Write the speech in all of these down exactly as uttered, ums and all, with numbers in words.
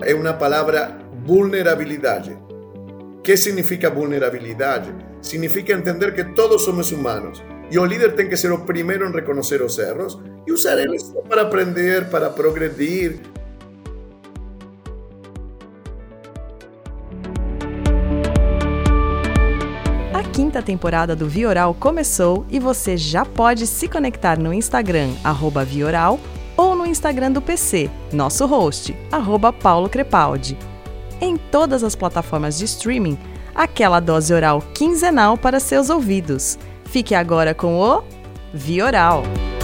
é uma palavra vulnerabilidade. O que significa vulnerabilidade? Significa entender que todos somos humanos e o líder tem que ser o primeiro em reconhecer os erros e usar eles para aprender, para progredir. A quinta temporada do Vioral começou e você já pode se conectar no Instagram, arroba Vioral, ou no Instagram do P C, nosso host, arroba Paulo Crepaldi. Em todas as plataformas de streaming, aquela dose oral quinzenal para seus ouvidos. Fique agora com o Vioral.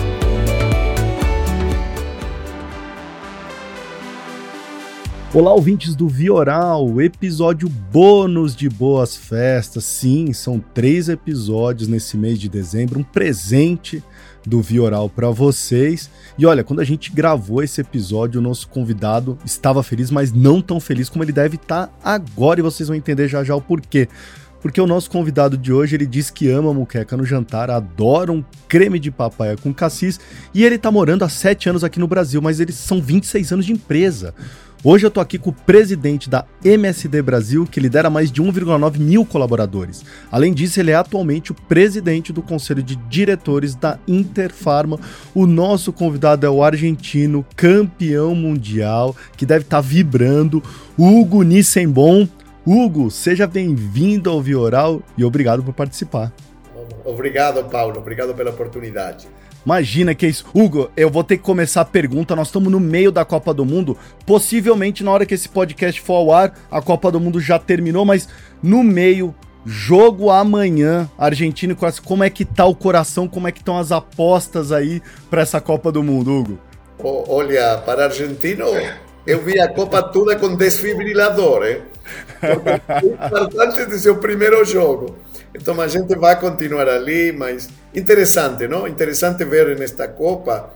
Olá, ouvintes do Vioral, episódio bônus de Boas Festas. Sim, são três episódios nesse mês de dezembro, um presente do Vioral para vocês. E olha, quando a gente gravou esse episódio, o nosso convidado estava feliz, mas não tão feliz como ele deve estar agora, e vocês vão entender já já o porquê. Porque o nosso convidado de hoje, ele diz que ama muqueca no jantar, adora um creme de papaya com cassis, e ele tá morando há sete anos aqui no Brasil, mas eles são vinte e seis anos de empresa. Hoje eu tô aqui com o presidente da M S D Brasil, que lidera mais de um vírgula nove mil colaboradores. Além disso, ele é atualmente o presidente do Conselho de Diretores da Interpharma. O nosso convidado é o argentino, campeão mundial, que deve estar vibrando, Hugo Nissenbaum. Hugo, seja bem-vindo ao Vioral e obrigado por participar. Obrigado, Paulo. Obrigado pela oportunidade. Imagina que é isso. Hugo, eu vou ter que começar a pergunta. Nós estamos no meio da Copa do Mundo. Possivelmente, na hora que esse podcast for ao ar, a Copa do Mundo já terminou, mas no meio, jogo amanhã, Argentina e Croácia. Como é que tá o coração? Como é que estão as apostas aí para essa Copa do Mundo, Hugo? Oh, olha, para argentino, eu vi a Copa toda com desfibrilador, hein? Porque é importante de seu primeiro jogo. Então a gente vai continuar ali, mas interessante, não? Interessante ver nesta Copa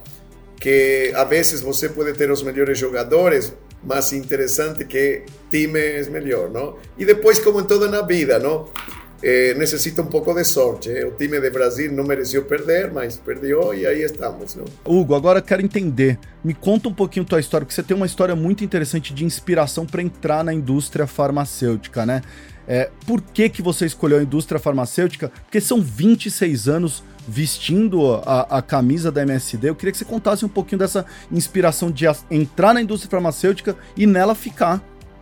que a vezes você pode ter os melhores jogadores, mas interessante que time é melhor, não? E depois, como em tudo na vida, não? Eh, necessita um pouco de sorte. Eh? O time de Brasil não mereceu perder, mas perdeu e aí estamos, não? Hugo, agora eu quero entender. Me conta um pouquinho tua história, porque você tem uma história muito interessante de inspiração para entrar na indústria farmacêutica, né? É, por que que você escolheu a indústria farmacêutica? Porque são vinte e seis anos vestindo a, a camisa da M S D. Eu queria que você contasse um pouquinho dessa inspiração de a, entrar na indústria farmacêutica e nela ficar.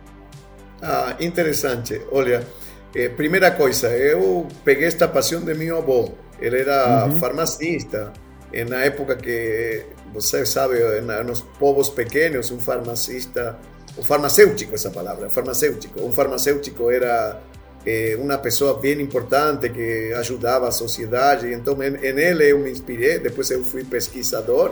Ah, interessante. Olha, eh, primeira coisa, eu peguei esta paixão de meu avô. Ele era uhum. farmacista. E na época que, você sabe, nos povos pequenos, um farmacista... O farmacêutico, essa palavra, farmacêutico. Um farmacêutico era eh, uma pessoa bem importante que ajudava a sociedade. Então, em, em ele eu me inspirei. Depois eu fui pesquisador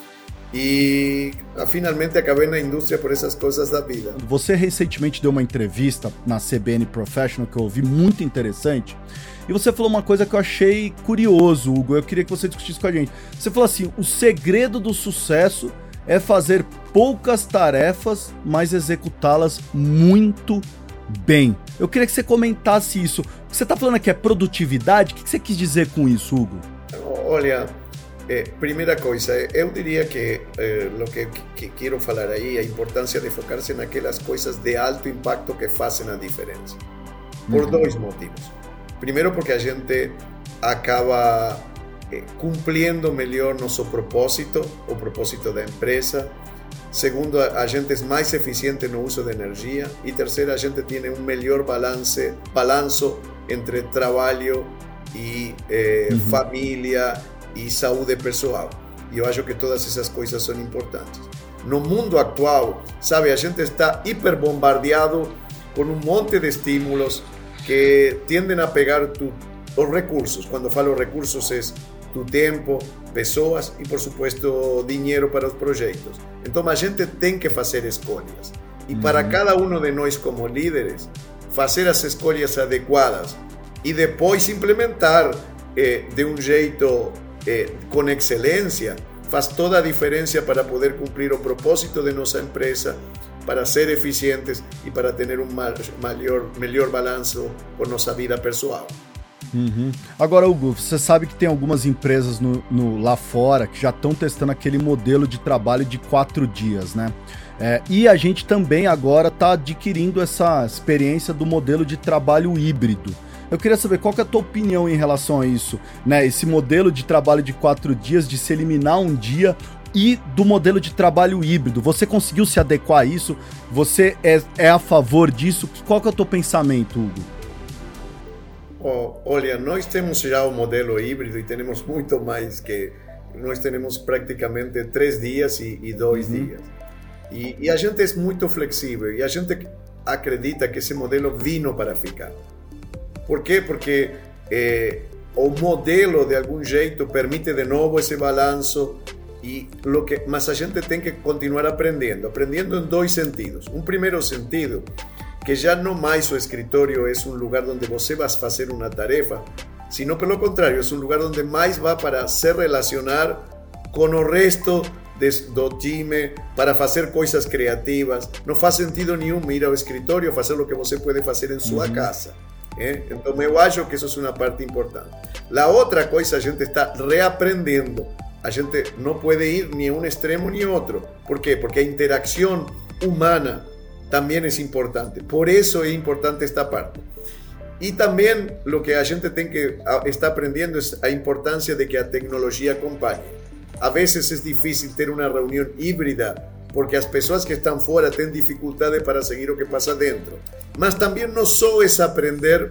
e finalmente acabei na indústria por essas coisas da vida. Você recentemente deu uma entrevista na C B N Professional que eu ouvi, muito interessante. E você falou uma coisa que eu achei curioso, Hugo. Eu queria que você discutisse com a gente. Você falou assim, o segredo do sucesso é fazer poucas tarefas, mas executá-las muito bem. Eu queria que você comentasse isso. Você está falando aqui é produtividade? O que você quis dizer com isso, Hugo? Olha, eh, primeira coisa, eu diria que eh, o que, que quero falar aí é a importância de focar-se naquelas coisas de alto impacto que fazem a diferença. Por uhum. dois motivos. Primeiro, porque a gente acaba cumprindo melhor nosso propósito, o propósito da empresa. Segundo, a gente é mais eficiente no uso de energia. E terceiro, a gente tem um melhor balance, balanço entre trabalho e eh, uhum. família e saúde pessoal. E eu acho que todas essas coisas são importantes. No mundo atual, sabe, a gente está hiperbombardeado com um monte de estímulos que tendem a pegar tu, os recursos. Quando falo recursos, é tu tempo, pessoas e, por supuesto, dinheiro para os projetos. Então, a gente tem que fazer escolhas. E para cada um de nós, como líderes, fazer as escolhas adequadas e depois implementar eh, de um jeito eh, com excelência, faz toda a diferença para poder cumprir o propósito de nossa empresa, para ser eficientes e para ter um maior, melhor balanço com nossa vida pessoal. Uhum. Agora, Hugo, você sabe que tem algumas empresas no, no, lá fora que já estão testando aquele modelo de trabalho de quatro dias, né? É, e a gente também agora está adquirindo essa experiência do modelo de trabalho híbrido. Eu queria saber qual que é a tua opinião em relação a isso, né? Esse modelo de trabalho de quatro dias, de se eliminar um dia, e do modelo de trabalho híbrido. Você conseguiu se adequar a isso? Você é, é a favor disso? Qual que é o teu pensamento, Hugo? Oh, olha, nós temos já o modelo híbrido e temos muito mais que... Nós temos praticamente três dias e, e dois uhum. dias. E, e a gente é muito flexível e a gente acredita que esse modelo vino para ficar. Por quê? Porque eh, o modelo, de algum jeito, permite de novo esse balanço, e lo que, mas a gente tem que continuar aprendendo, aprendendo em dois sentidos. Um primeiro sentido, que já não mais o escritório é um lugar onde você vai fazer uma tarefa, sino pelo contrário, é um lugar onde mais vai para se relacionar com o resto de, do time, para fazer coisas criativas. Não faz sentido nenhum ir ao escritório fazer o que você pode fazer em sua uhum. casa. Eh? Então eu acho que isso é uma parte importante. A outra coisa, a gente está reaprendendo. A gente não pode ir nem um extremo nem outro. Por quê? Porque a interação humana também é importante. Por isso é importante esta parte. E também o que a gente tem que estar aprendendo é a importância de que a tecnologia acompanhe. A vezes é difícil ter uma reunião híbrida porque as pessoas que estão fora têm dificuldade para seguir o que passa dentro. Mas também não só é aprender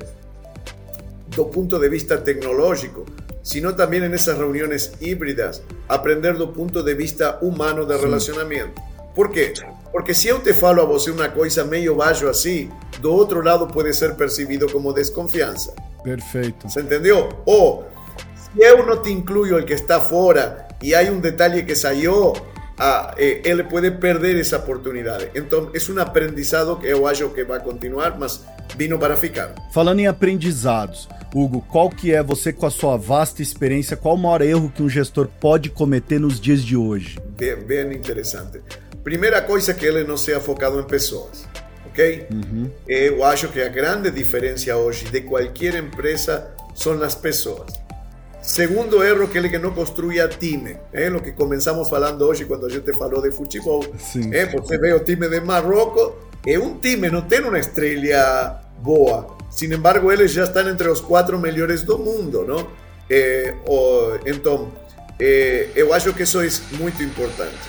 do ponto de vista tecnológico, sino também nessas reuniões híbridas, aprender do ponto de vista humano de relacionamento. Por quê? Porque se eu te falo a você uma coisa meio baixo assim, do outro lado pode ser percebido como desconfiança. Perfeito. Você entendeu? Ou, se eu não te incluo o que está fora e há um detalhe que saiu, ah, eh, ele pode perder essa oportunidade. Então, é um aprendizado que eu acho que vai continuar, mas vino para ficar. Falando em aprendizados, Hugo, qual que é, você com a sua vasta experiência, qual o maior erro que um gestor pode cometer nos dias de hoje? Bem, bem interessante. Primeira coisa, que ele não seja focado em pessoas, ok? Uhum. Eu acho que a grande diferença hoje de qualquer empresa são as pessoas. Segundo erro, que ele que não construía time, é o que começamos falando hoje quando a gente falou de futebol. É, você vê o time de Marrocos, é um time, não tem uma estrela boa. Sin embargo, eles já estão entre os quatro melhores do mundo, não? É, o, então, é, eu acho que isso é muito importante.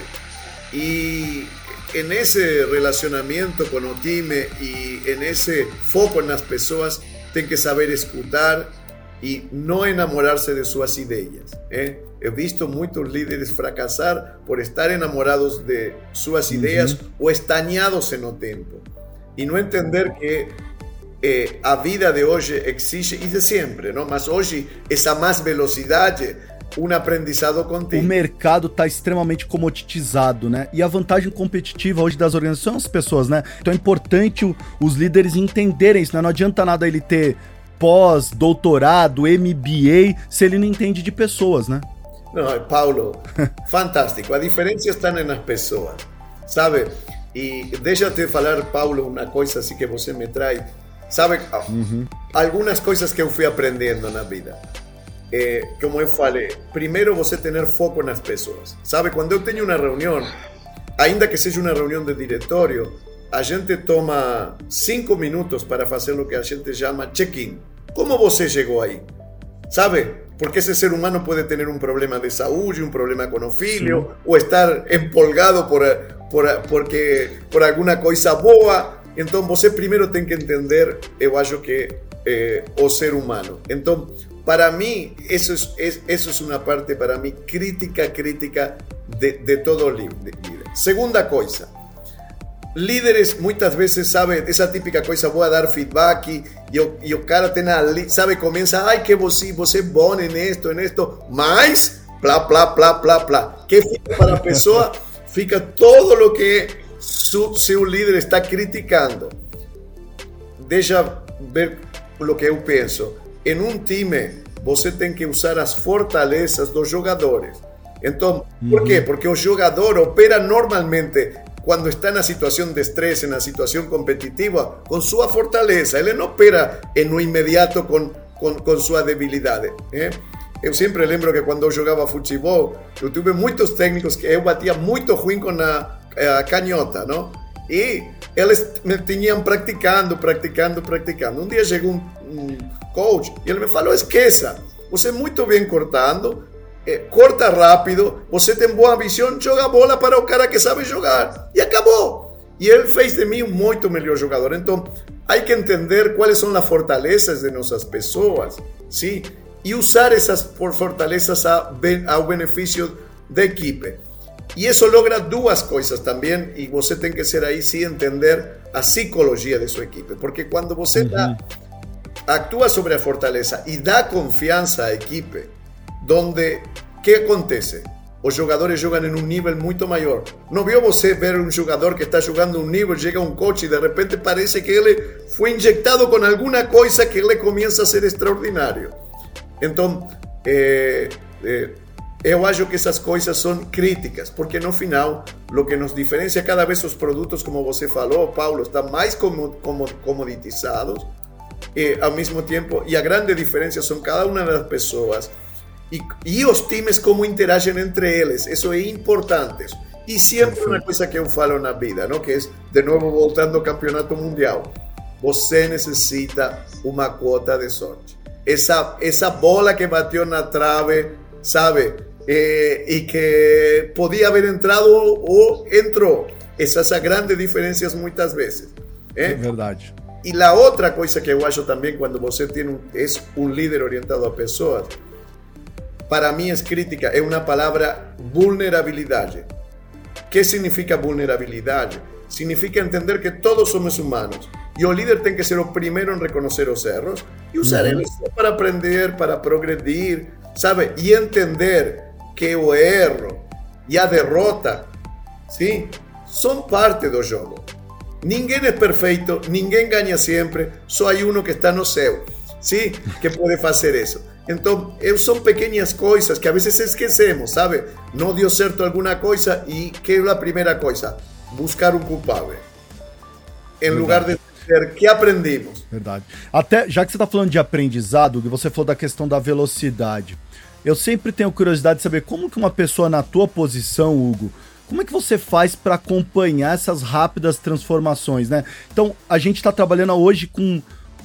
E nesse relacionamento com o time e nesse foco nas pessoas, tem que saber escutar e não enamorar-se de suas ideias. Eh? Eu visto muitos líderes fracassar por estar enamorados de suas uhum. ideias ou estagnados no tempo. E não entender que eh, a vida de hoje exige, e de sempre, não? Mas hoje, essa mais velocidade, um aprendizado contínuo. O mercado está extremamente comoditizado, né? E a vantagem competitiva hoje das organizações são as pessoas, né? Então é importante o, os líderes entenderem isso, né? Não adianta nada ele ter pós, doutorado, M B A, se ele não entende de pessoas, né? Não, Paulo, fantástico. A diferença está nas pessoas, sabe? E deixa eu te falar, Paulo, uma coisa assim que você me traz. Sabe, uhum. algumas coisas que eu fui aprendendo na vida. É, como eu falei, primeiro você ter foco nas pessoas. Sabe, quando eu tenho uma reunião, ainda que seja uma reunião de diretório, a gente toma cinco minutos para fazer o que a gente chama check-in. Como você chegou aí? Sabe? Porque esse ser humano pode ter um problema de saúde, um problema com o filho, sim, ou estar empolgado por, por, porque, por alguma coisa boa. Então, você primeiro tem que entender, eu acho que, eh, o ser humano. Então, para mim, isso é, isso é uma parte, para mim, crítica, crítica de, de todo líder. Segunda coisa, líderes muitas vezes, sabe, essa típica coisa, vou dar feedback e o, e o cara tem ali, sabe, começa, ai, que você, você é bom nisto, nisto, mas, plá, plá, plá, plá, plá. Que fica para a pessoa? Fica todo o que su, seu líder está criticando. Deixa ver o que eu penso. Em um time, você tem que usar as fortalezas dos jogadores. Então, por quê? Porque o jogador opera normalmente, quando está na situação de estresse, na situação competitiva, com sua fortaleza. Ele não opera no imediato com, com, com sua debilidade. Eh? Eu sempre lembro que quando eu jogava futebol, eu tive muitos técnicos que eu batia muito ruim com a, a canhota, não? E eles me tinham praticando, praticando, praticando. Um dia chegou um, um coach e ele me falou, esqueça, você é muito bem cortando, eh, corta rápido, você tem boa visão, joga a bola para o cara que sabe jogar. E acabou. E ele fez de mim um muito melhor jogador. Então, há que entender quais são as fortalezas de nossas pessoas, sim? E usar essas fortalezas ao benefício da equipe. E isso logra duas coisas também, e você tem que ser aí sim entender a psicologia de sua equipe, porque quando você uhum. dá, atua sobre a fortaleza e dá confiança à equipe, onde, o que acontece? Os jogadores jogam em um nível muito maior. Não viu você ver um jogador que está jogando um nível, chega um coach e de repente parece que ele foi injetado com alguma coisa que ele começa a ser extraordinário. Então, eh, eh, eu acho que essas coisas são críticas, porque no final, o que nos diferencia cada vez os produtos, como você falou, Paulo, estão mais comoditizados, e ao mesmo tempo, e a grande diferença são cada uma das pessoas, e, e os times como interagem entre eles, isso é importante. E sempre uma coisa que eu falo na vida, não? Que é, de novo, voltando ao campeonato mundial, você necessita uma quota de sorte. Essa, essa bola que bateu na trave, sabe? Eh, e que podia haver entrado ou entrou. Essas são grandes diferenças muitas vezes. Eh? É verdade. E a outra coisa que eu acho também, quando você tem um, é um líder orientado a pessoas, para mim, é crítica, é uma palavra vulnerabilidade. O que significa vulnerabilidade? Significa entender que todos somos humanos. E o líder tem que ser o primeiro em reconhecer os erros e usar eles para aprender, para progredir, sabe? E entender que o erro e a derrota, sim, são parte do jogo. Ninguém é perfeito, ninguém ganha sempre, só há um que está no céu, sim, que pode fazer isso. Então, são pequenas coisas que a vezes esquecemos, sabe? Não deu certo alguma coisa e que é a primeira coisa? Buscar um culpável. Em Verdade. Lugar de dizer que aprendemos. Verdade. Até, já que você está falando de aprendizado, você falou da questão da velocidade. Eu sempre tenho curiosidade de saber como que uma pessoa na tua posição, Hugo, como é que você faz para acompanhar essas rápidas transformações, né? Então, a gente está trabalhando hoje com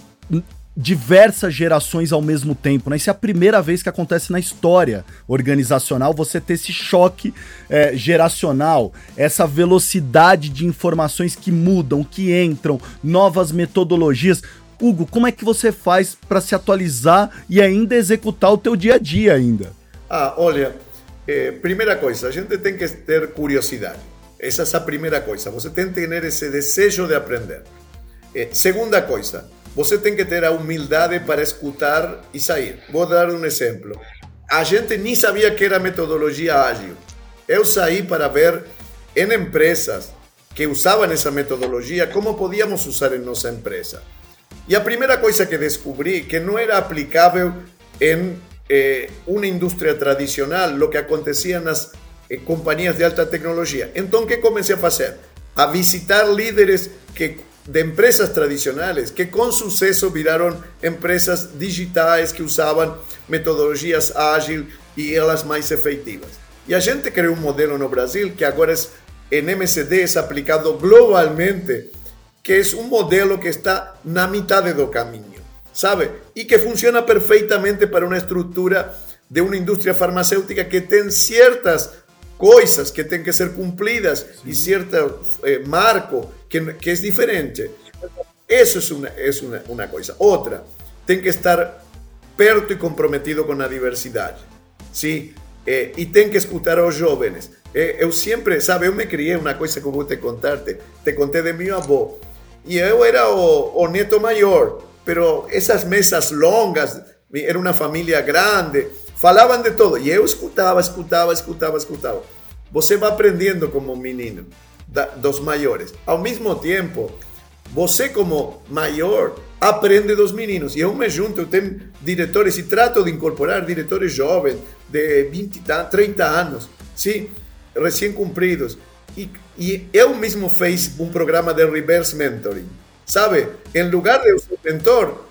diversas gerações ao mesmo tempo, né? Isso é a primeira vez que acontece na história organizacional, você ter esse choque é, geracional, essa velocidade de informações que mudam, que entram, novas metodologias. Hugo, como é que você faz para se atualizar e ainda executar o teu dia a dia ainda? Ah, olha, eh, primeira coisa, a gente tem que ter curiosidade. Essa é a primeira coisa, você tem que ter esse desejo de aprender. Eh, segunda coisa, você tem que ter a humildade para escutar e sair. Vou dar um exemplo. A gente nem sabia que era metodologia ágil. Eu saí para ver em empresas que usavam essa metodologia, como podíamos usar em nossa empresa. E a primeira coisa que descobri, que não era aplicável em eh, uma indústria tradicional, o que acontecia nas eh, companhias de alta tecnologia. Então, o que comecei a fazer? A visitar líderes que de empresas tradicionales que con suceso viraron empresas digitais que usaban metodologias ágiles y elas más efectivas. Y a gente creó un modelo no Brasil que agora es en M C D, es aplicado globalmente, que es un modelo que está na mitad do caminho, sabe? Y que funciona perfectamente para una estructura de una industria farmacéutica que tiene ciertas coisas que têm que ser cumpridas e certo eh, marco que, que é diferente. Isso é uma, é uma, uma coisa. Outra, tem que estar perto e comprometido com a diversidade. Sim? Eh, e tem que escutar aos jovens. Eh, eu sempre, sabe, eu me criei uma coisa que eu vou te contar, te, te contei de meu avô. E eu era o, o neto maior, pero essas mesas longas, era uma família grande, falavam de todo, e eu escutava, escutava, escutava, escutava. Você vai aprendendo como menino da, dos maiores. Ao mesmo tempo, você como maior aprende dos meninos. E eu me junto, eu tenho diretores e trato de incorporar diretores jovens de vinte, trinta anos, sim, recém-cumpridos. E, e eu mesmo fiz um programa de reverse mentoring. Sabe, em lugar de eu ser mentor,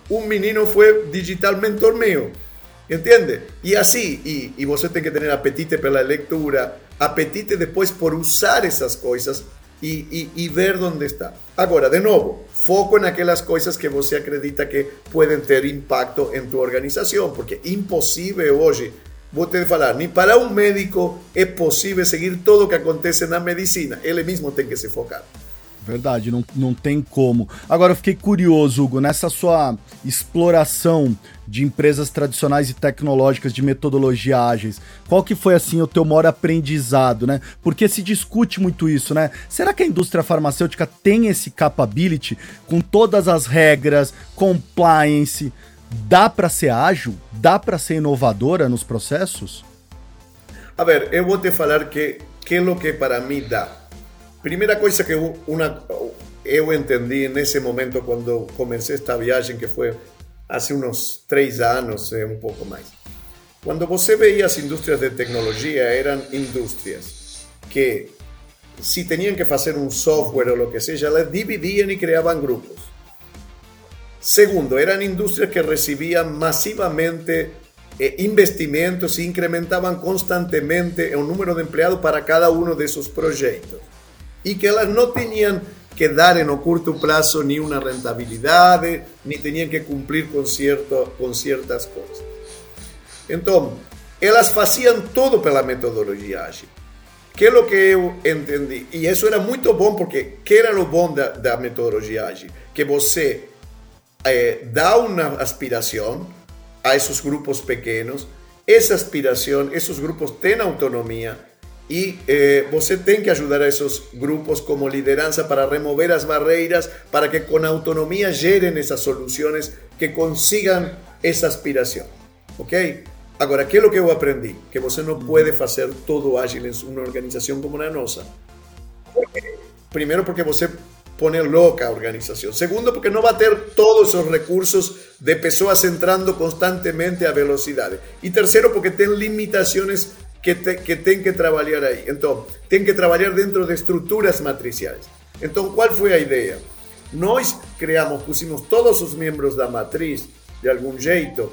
un menino fue digital mentor mío, ¿entiende? Y así, y, y você tem que tener apetite pela lectura, apetite después por usar esas cosas y, y, y ver dónde está. Ahora, de nuevo, foco en aquellas cosas que você acredita que pueden tener impacto en tu organización, porque es imposible hoy, vou te falar, ni para un médico es posible seguir todo lo que acontece na medicina, ele mesmo tem que se focar. Verdade, não, não tem como. Agora eu fiquei curioso, Hugo, nessa sua exploração de empresas tradicionais e tecnológicas de metodologia ágeis, qual que foi, assim, o teu maior aprendizado, né? Porque se discute muito isso, né? Será que a indústria farmacêutica tem esse capability com todas as regras, compliance? Dá para ser ágil? Dá para ser inovadora nos processos? A ver, eu vou te falar que, que é o que para mim dá. Primeira coisa que una, eu entendi nesse momento quando comecei esta viagem, que foi há uns três anos, um pouco mais. Quando você veia as indústrias de tecnologia, eram indústrias que, se tinham que fazer um software ou o que seja, elas dividiam e criavam grupos. Segundo, eram indústrias que recebiam massivamente eh, investimentos e incrementavam constantemente o número de empregados para cada um desses projetos. Y que ellas no tenían que dar en un corto plazo ni una rentabilidad, ni tenían que cumplir con, cierto, con ciertas cosas. Entonces, ellas hacían todo por la metodología ágil. ¿Qué es lo que yo entendí? Y eso era muy bueno, porque ¿qué era lo bueno de la metodología ágil? Que você eh, da una aspiración a esos grupos pequeños, esa aspiración, esos grupos tienen autonomía, y eh, você tem que ajudar a esos grupos como lideranza para remover as barreiras, para que con autonomía geren esas soluciones que consigan esa aspiración. ¿Ok? Ahora, ¿qué es lo que yo aprendí? Que você no puede hacer todo ágil en una organización como la nosa. Primero, porque você pone loca a organización. Segundo, porque no va a tener todos esos recursos de personas entrando constantemente a velocidad. Y tercero, porque tiene limitaciones que, te, que tienen que trabajar ahí. Entonces, tienen que trabajar dentro de estructuras matriciales. Entonces, ¿cuál fue la idea? Nós creamos, pusimos todos los miembros de la matriz, de algún jeito,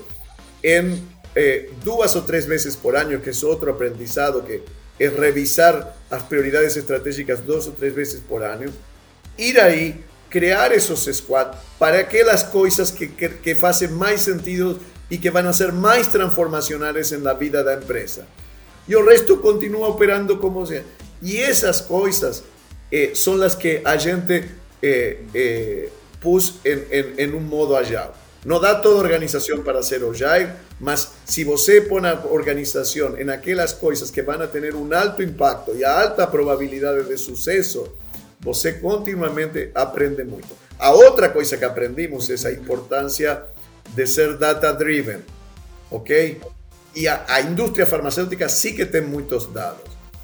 en eh, dos o tres veces por año, que es otro aprendizado, que es revisar las prioridades estratégicas dos o tres veces por año, ir ahí, crear esos squads para aquellas cosas que, que, que hacen más sentido y que van a ser más transformacionales en la vida de la empresa. Y el resto continúa operando como sea. Y esas cosas eh, son las que a gente eh, eh, puso en, en, en un modo agile. No da toda organización para ser agile, mas si você pone a organización en aquellas cosas que van a tener un alto impacto y a alta probabilidad de suceso, você continuamente aprende mucho. A otra cosa que aprendimos es la importancia de ser data driven, ¿ok? Y a, a industria farmacéutica sí que tem muchos dados,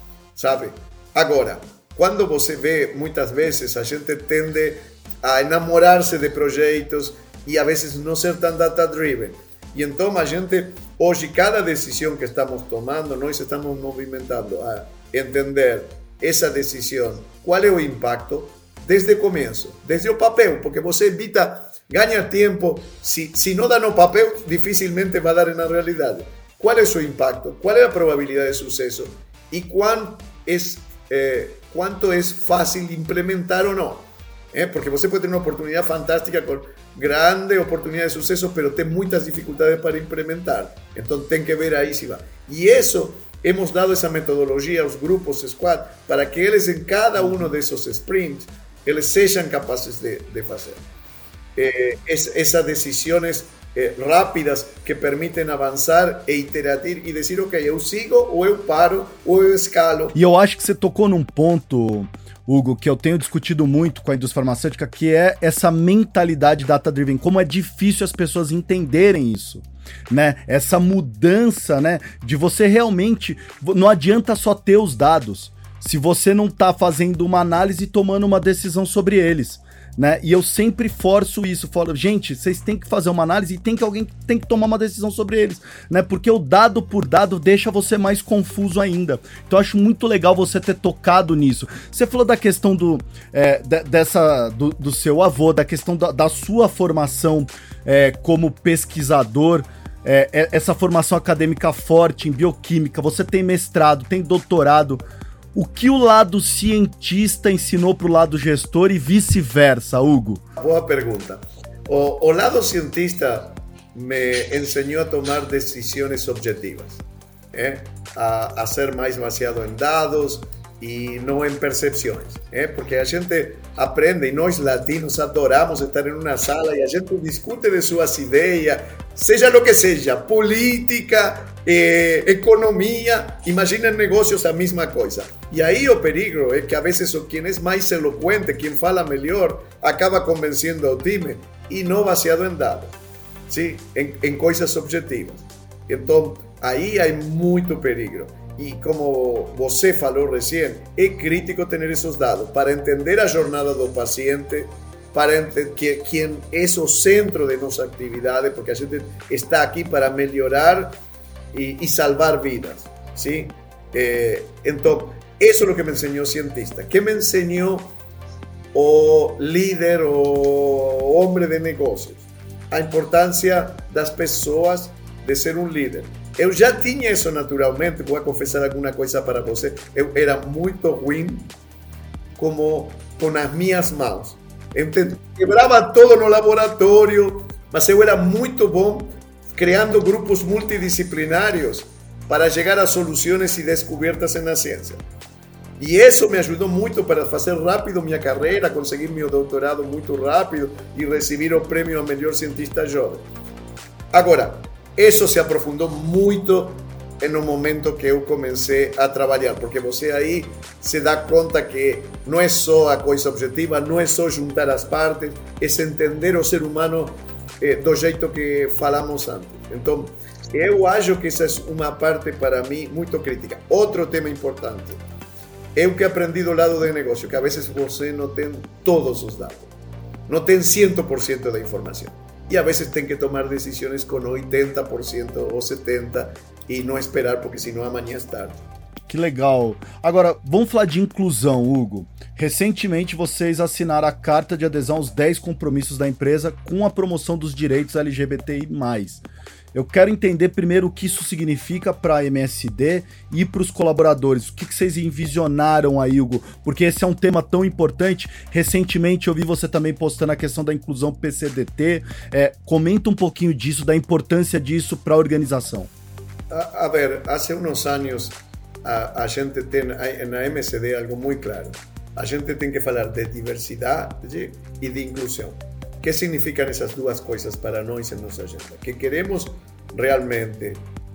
sabe? Agora, quando você vê, muitas vezes a gente tende a enamorarse de projetos y a veces no ser tan data driven. Y entonces a gente, hoy cada decisión que estamos tomando, nós estamos movimentando a entender esa decisión, cuál es el impacto desde el comienzo, desde el papel, porque você evita, gana tiempo, si, si no da no papel, difícilmente va a dar en la realidad. ¿Cuál es su impacto? ¿Cuál es la probabilidad de suceso? ¿Y cuán es, eh, cuánto es fácil implementar o no? ¿Eh? Porque você puede tener una oportunidad fantástica con grande oportunidad de suceso, pero tiene muchas dificultades para implementar. Entonces, ten que ver ahí si va. Y eso, hemos dado esa metodología a los grupos squad para que ellos en cada uno de esos sprints, ellos sean capaces de, de hacer. Eh, es, esas decisiones Eh, rápidas que permitem avançar e iteratir e dizer, ok, eu sigo, ou eu paro, ou eu escalo. E eu acho que você tocou num ponto, Hugo, que eu tenho discutido muito com a indústria farmacêutica, que é essa mentalidade data-driven, como é difícil as pessoas entenderem isso, né? Essa mudança, né, de você realmente, não adianta só ter os dados, se você não está fazendo uma análise e tomando uma decisão sobre eles, né? E eu sempre forço isso, falo, gente, vocês têm que fazer uma análise e tem que alguém tem que tomar uma decisão sobre eles, né? Porque o dado por dado deixa você mais confuso ainda. Então eu acho muito legal você ter tocado nisso. Você falou da questão do, é, de, dessa, do, do seu avô, da questão da, da sua formação é, como pesquisador, é, essa formação acadêmica forte em bioquímica, você tem mestrado, tem doutorado. O que o lado cientista ensinou para o lado gestor e vice-versa, Hugo? Boa pergunta. O, o lado cientista me ensinou a tomar decisões objetivas, ¿eh? a, a ser mais baseado em dados e não em percepções, ¿eh? Porque a gente aprende, e nós latinos adoramos estar em uma sala e a gente discute de suas ideias, seja o que seja, política, eh, economia, imagina em negócios a mesma coisa. E aí o perigo é que a vezes quem é mais eloquente, quem fala melhor, acaba convencendo ao time e não baseado em dados, ¿sí? em, em coisas objetivas. Então, aí há muito perigo. E como você falou recém, é crítico ter esses dados para entender a jornada do paciente, para entender que, quem é o centro de nossa atividade, porque a gente está aqui para melhorar e, e salvar vidas, ¿sí? Eh, então, isso é o que me ensinou o cientista. Que me ensinou o líder, o homem de negócios? A importância das pessoas de ser um líder. Eu já tinha isso naturalmente, vou confessar alguma coisa para você. Eu era muito ruim como com as minhas mãos. Eu quebrava todo no laboratório, mas eu era muito bom criando grupos multidisciplinários para chegar a soluções e descobertas na ciência. E isso me ajudou muito para fazer rápido minha carreira, conseguir meu doutorado muito rápido e receber o prêmio ao melhor cientista jovem. Agora, isso se aprofundou muito no momento que eu comecei a trabalhar, porque você aí se dá conta que não é só a coisa objetiva, não é só juntar as partes, é entender o ser humano eh, do jeito que falamos antes. Então, eu acho que essa é uma parte para mim muito crítica. Outro tema importante, eu que aprendi do lado do negócio, que a vezes você não tem todos os dados, não tem cem por cento da informação. E a vezes tem que tomar decisões com oitenta por cento ou setenta por cento e não esperar, porque senão amanhã é tarde. Que legal. Agora, vamos falar de inclusão, Hugo. Recentemente vocês assinaram a carta de adesão aos dez compromissos da empresa com a promoção dos direitos L G B T I mais. Eu quero entender primeiro o que isso significa para a M S D e para os colaboradores. O que, que vocês envisionaram aí, Hugo? Porque esse é um tema tão importante. Recentemente eu vi você também postando a questão da inclusão P C D T. É, comenta um pouquinho disso, da importância disso para a organização. A, a ver, há uns anos a, a gente tem na M S D algo muito claro. A gente tem que falar de diversidade e de inclusão. O que significam essas duas coisas para nós em nossa agenda? Que queremos realmente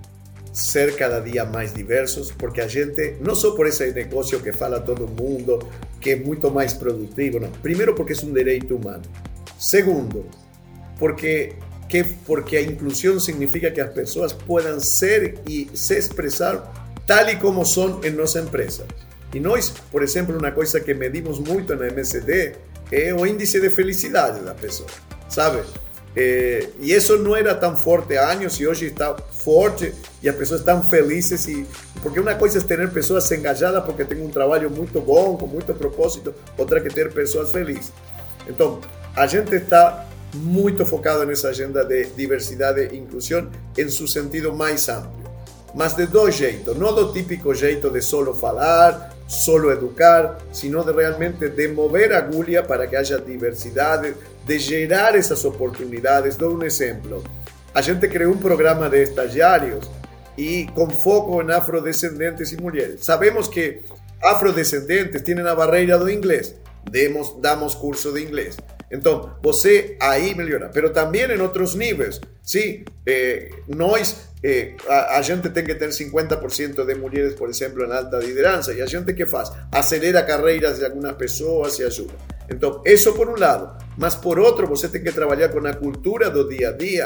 ser cada dia mais diversos, porque a gente, não só por esse negócio que fala todo mundo, que é muito mais produtivo, não. Primeiro porque é um direito humano. Segundo, porque, que, porque a inclusão significa que as pessoas possam ser e se expressar tal e como são em nossa empresa. E nós, por exemplo, uma coisa que medimos muito na M S D é o índice de felicidade da pessoa, sabe? É, e isso não era tão forte há anos e hoje está forte e as pessoas estão felizes. E, porque uma coisa é ter pessoas engajadas porque tem um trabalho muito bom, com muito propósito, outra que ter pessoas felizes. Então, a gente está muito focado nessa agenda de diversidade e inclusão em seu sentido mais amplo. Mas de dois jeitos, não do típico jeito de solo falar, solo educar, sino de realmente de mover a agulha para que haja diversidade, de gerar essas oportunidades. Dou um exemplo. A gente criou um programa de estagiários e com foco em afrodescendentes e mulheres. Sabemos que afrodescendentes têm a barreira do inglês. Demos, damos curso de inglês. Então, você aí melhora. Mas também em outros níveis. Sim, eh, nós, eh, a, a gente tem que ter cinquenta por cento de mulheres, por exemplo, na alta liderança. E a gente que faz? Acelera carreiras de algumas pessoas e ajuda. Então, isso por um lado. Mas por outro, você tem que trabalhar com a cultura do dia a dia.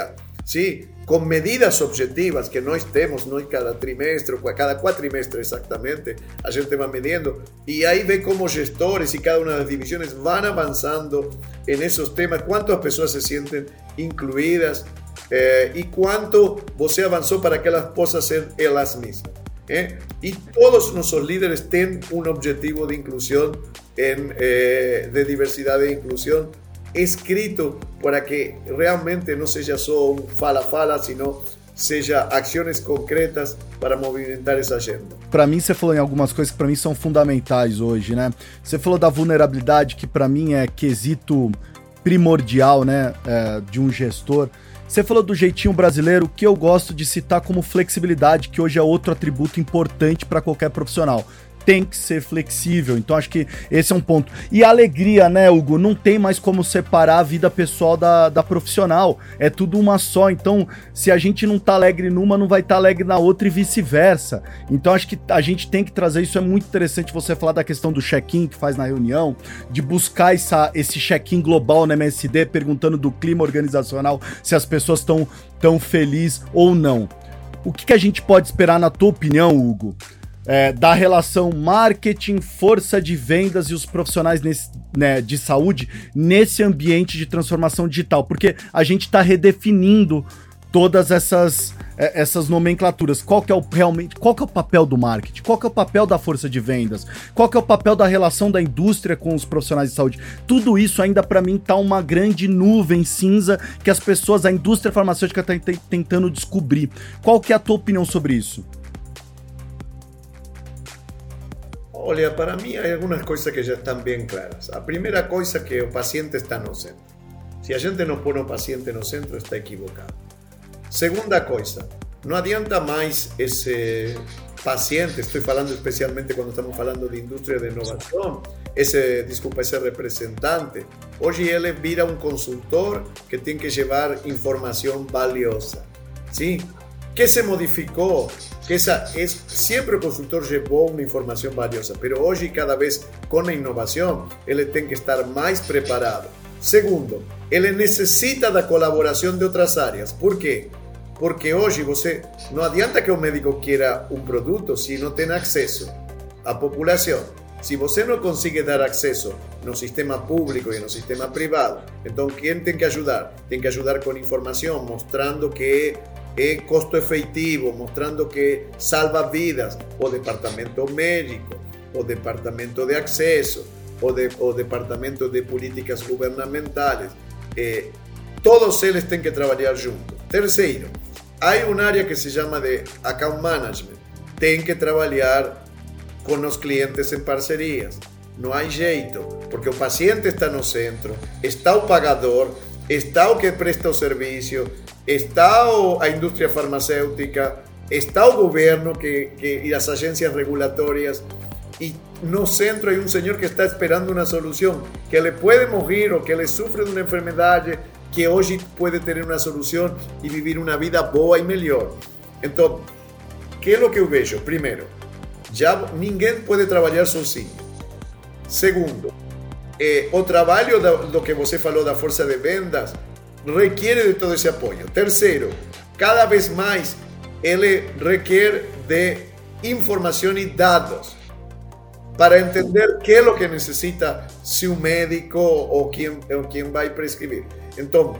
¿sí? Com medidas objetivas que nós temos, nós cada trimestre, cada quatrimestre exatamente, a gente vai medindo, e aí vê como gestores e cada uma das divisões vão avançando em esses temas, quantas pessoas se sentem incluídas eh, e quanto você avançou para que elas possam ser elas mesmas. Eh? E todos nossos líderes têm um objetivo de inclusão, em, eh, de diversidade e inclusão, escrito para que realmente não seja só um fala-fala, sino seja ações concretas para movimentar essa agenda. Para mim, você falou em algumas coisas que para mim são fundamentais hoje, né? Você falou da vulnerabilidade, que para mim é quesito primordial, né, é, de um gestor. Você falou do jeitinho brasileiro, que eu gosto de citar como flexibilidade, que hoje é outro atributo importante para qualquer profissional. Tem que ser flexível, então acho que esse é um ponto. E a alegria, né, Hugo? Não tem mais como separar a vida pessoal da, da profissional, é tudo uma só, então se a gente não tá alegre numa, não vai estar tá alegre na outra e vice-versa. Então acho que a gente tem que trazer, isso é muito interessante você falar da questão do check-in que faz na reunião, de buscar essa, esse check-in global na M S D, perguntando do clima organizacional, se as pessoas estão tão felizes ou não. O que, que a gente pode esperar, na tua opinião, Hugo, É, da relação marketing, força de vendas e os profissionais nesse, né, de saúde nesse ambiente de transformação digital? Porque a gente está redefinindo todas essas, é, essas nomenclaturas. Qual que é o, realmente, qual que é o papel do marketing? Qual que é o papel da força de vendas? Qual que é o papel da relação da indústria com os profissionais de saúde? Tudo isso ainda para mim está uma grande nuvem cinza que as pessoas, a indústria farmacêutica está tentando descobrir. Qual que é a tua opinião sobre isso? Olha, para mim há algumas coisas que já estão bem claras. A primeira coisa é que o paciente está no centro. Se a gente não põe o paciente no centro, está equivocado. Segunda coisa, não adianta mais esse paciente, estou falando especialmente quando estamos falando de indústria de inovação, esse, desculpa, esse representante, hoje ele vira um consultor que tem que levar informação valiosa. Sim? Que se modificou? Que esa es, siempre el consultor llevó una información valiosa, pero hoy cada vez con la innovación, él tiene que estar más preparado. Segundo, él necesita la colaboración de otras áreas. ¿Por qué? Porque hoy você, no adianta que un médico quiera un producto si no tiene acceso a población. Si você no consigue dar acceso no sistema público y en el sistema privado, entonces ¿quién tiene que ayudar? Tiene que ayudar con información, mostrando que es costo efectivo, mostrando que salva vidas, o departamento médico, o departamento de acceso, o, de, o departamento de políticas gubernamentales. Eh, todos eles têm que trabalhar juntos. Terceiro, há uma área que se chama de account management. Tem que trabalhar com os clientes em parcerias. Não há jeito, porque o paciente está no centro, está o pagador, está o que presta o serviço, está a indústria farmacêutica, está o governo que, que, e as agências regulatórias, e no centro há um senhor que está esperando uma solução, que ele pode morrer ou que ele sofre de uma enfermidade, que hoje pode ter uma solução e viver uma vida boa e melhor. Então, o que é o que eu vejo? Primeiro, já ninguém pode trabalhar sozinho. Segundo, eh, o trabalho do, do que você falou da força de vendas requiere de todo esse apoio. Terceiro, cada vez mais ele requer de informação e dados para entender que é o que necessita se um médico ou quem, ou quem vai prescrever. Então,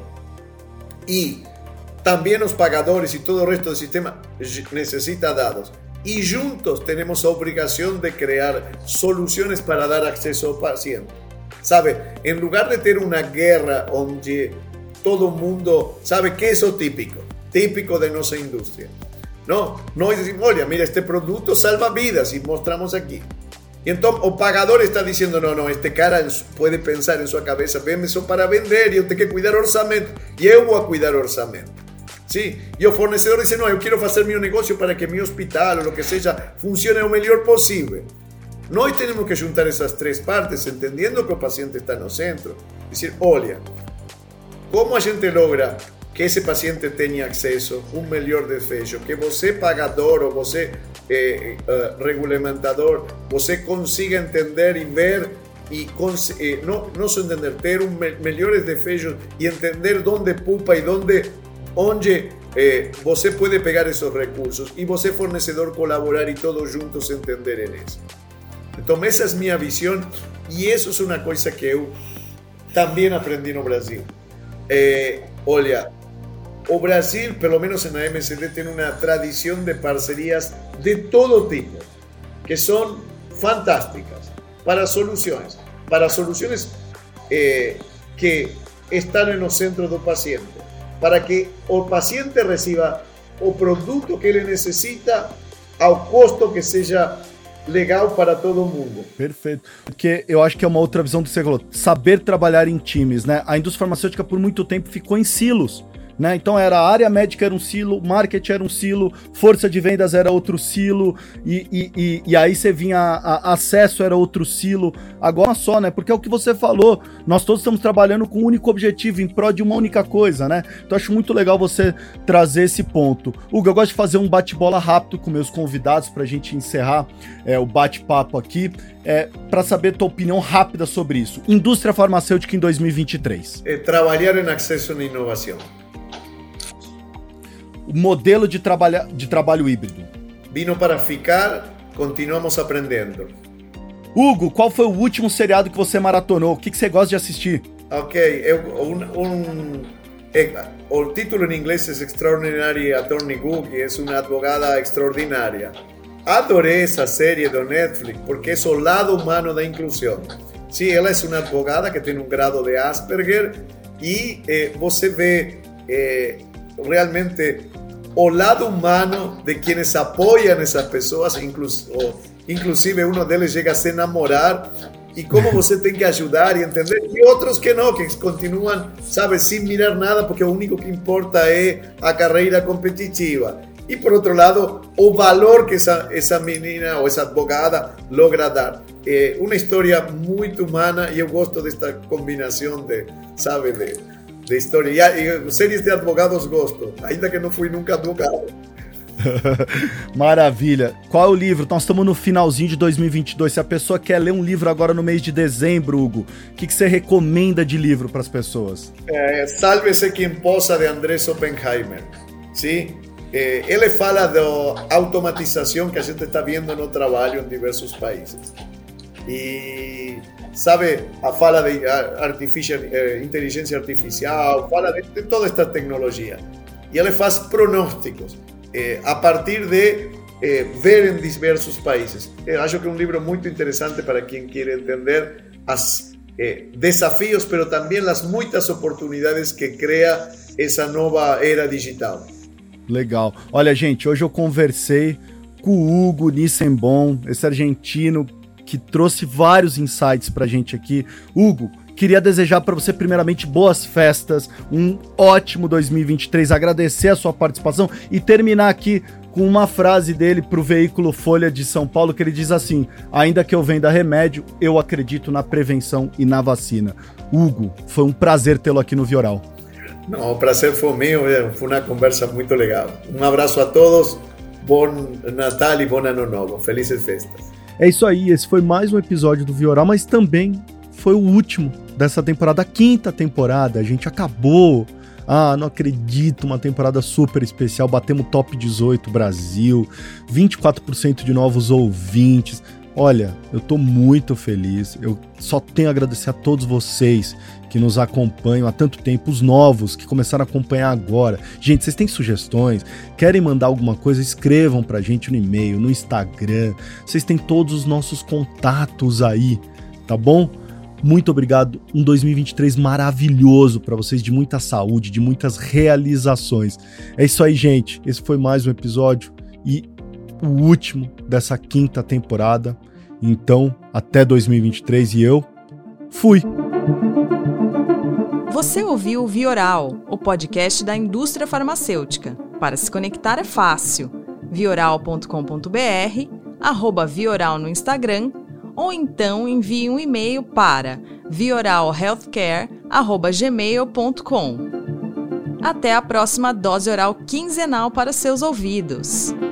e também os pagadores e todo o resto do sistema necessita dados. E juntos temos a obrigação de criar soluções para dar acesso ao paciente. Sabe, em lugar de ter uma guerra onde todo mundo sabe que é o típico, típico de nossa indústria. Não, nós dizemos, olha, mira, este produto salva vidas e mostramos aqui. E então o pagador está dizendo, não, não, este cara pode pensar em sua cabeça, vem só para vender e eu tenho que cuidar orçamento. E eu vou cuidar orçamento. Sim? E o fornecedor diz, não, eu quero fazer meu negócio para que meu hospital ou o que seja funcione o melhor possível. Nós temos que juntar essas três partes, entendendo que o paciente está no centro. Dizer, olha, como a gente logra que esse paciente tenha acesso, um melhor desfecho, que você pagador ou você eh, eh, regulamentador, você consiga entender e ver e eh, não, não só entender, ter um me melhores desfechos e entender onde pupa e onde onde eh, você pode pegar esses recursos e você, fornecedor, colaborar e todos juntos entenderem isso. Então, essa é a minha visão e isso é uma coisa que eu também aprendi no Brasil. Eh, olha, o Brasil, pelo menos na M S D, tem uma tradição de parcerias de todo tipo, que são fantásticas para soluções, para soluções eh, que estão no centro do paciente, para que o paciente receba o produto que ele necessita ao custo que seja legal para todo mundo. Perfeito. Porque eu acho que é uma outra visão do que você falou, saber trabalhar em times, né? A indústria farmacêutica por muito tempo ficou em silos. Né? Então era a área médica era um silo, marketing era um silo, força de vendas era outro silo, e, e, e, e aí você vinha, a, a acesso era outro silo, agora só, né? Porque é o que você falou, nós todos estamos trabalhando com um único objetivo, em prol de uma única coisa, né? Então acho muito legal você trazer esse ponto. Hugo, eu gosto de fazer um bate-bola rápido com meus convidados pra gente encerrar é, o bate-papo aqui, é, para saber tua opinião rápida sobre isso. Indústria farmacêutica em dois mil e vinte e três. É trabalhar em acesso e inovação. O modelo de, trabalha, de trabalho híbrido. Vino para ficar, continuamos aprendendo. Hugo, qual foi o último seriado que você maratonou? O que, que você gosta de assistir? Ok, eu, um, um, é, o título em inglês é Extraordinary Attorney Gu, que é uma advogada extraordinária. Adorei essa série do Netflix porque é o lado humano da inclusão. Sim, ela é uma advogada que tem um grado de Asperger e eh, você vê eh, realmente o lado humano de quienes apoiam essas pessoas, inclusive um deles chega a se namorar, e como você tem que ajudar e entender, e outros que não, que continuam, sabe, sem mirar nada, porque o único que importa é a carreira competitiva. E por outro lado, o valor que essa, essa menina ou essa advogada logra dar. É uma história muito humana e eu gosto desta combinação de, sabe, de de história. E, e séries de advogados gosto, ainda que não fui nunca advogado. Maravilha. Qual é o livro? Nós estamos no finalzinho de dois mil e vinte e dois. Se a pessoa quer ler um livro agora no mês de dezembro, Hugo, o que, que você recomenda de livro para as pessoas? É, Sálvese Quem Possa, de Andrés Oppenheimer. Sim? É, ele fala da automatização que a gente está vendo no trabalho em diversos países. E sabe, a fala de artificial, eh, inteligência artificial, fala de, de toda esta tecnologia. E ele faz pronósticos eh, a partir de eh, ver em diversos países. Eu acho que é um livro muito interessante para quem quer entender os eh, desafios, mas também as muitas oportunidades que cria essa nova era digital. Legal. Olha, gente, hoje eu conversei com o Hugo Nissenbaum, esse argentino que trouxe vários insights pra gente aqui. Hugo, queria desejar para você primeiramente boas festas, um ótimo dois mil e vinte e três, agradecer a sua participação e terminar aqui com uma frase dele pro veículo Folha de São Paulo, que ele diz assim: ainda que eu venda remédio, eu acredito na prevenção e na vacina. Hugo, foi um prazer tê-lo aqui no Vioral. Não, o prazer foi meu, foi uma conversa muito legal. Um abraço a todos, bom Natal e bom Ano Novo, felizes festas. É isso aí, esse foi mais um episódio do Vioral, mas também foi o último dessa temporada, a quinta temporada, a gente acabou. Ah, não acredito, uma temporada super especial, batemos top dezoito Brasil, vinte e quatro por cento de novos ouvintes. Olha, eu tô muito feliz, eu só tenho a agradecer a todos vocês que nos acompanham há tanto tempo, os novos que começaram a acompanhar agora. Gente, vocês têm sugestões? Querem mandar alguma coisa? Escrevam pra gente no e-mail, no Instagram. Vocês têm todos os nossos contatos aí, tá bom? Muito obrigado, um dois mil e vinte e três maravilhoso pra vocês, de muita saúde, de muitas realizações. É isso aí, gente, esse foi mais um episódio e o último dessa quinta temporada. Então, até dois mil e vinte e três e eu fui! Você ouviu o Vioral, o podcast da indústria farmacêutica. Para se conectar é fácil. vioral ponto com ponto b r, arroba Vioral no Instagram, ou então envie um e-mail para vioral healthcare arroba gmail ponto com. Até a próxima dose oral quinzenal para seus ouvidos.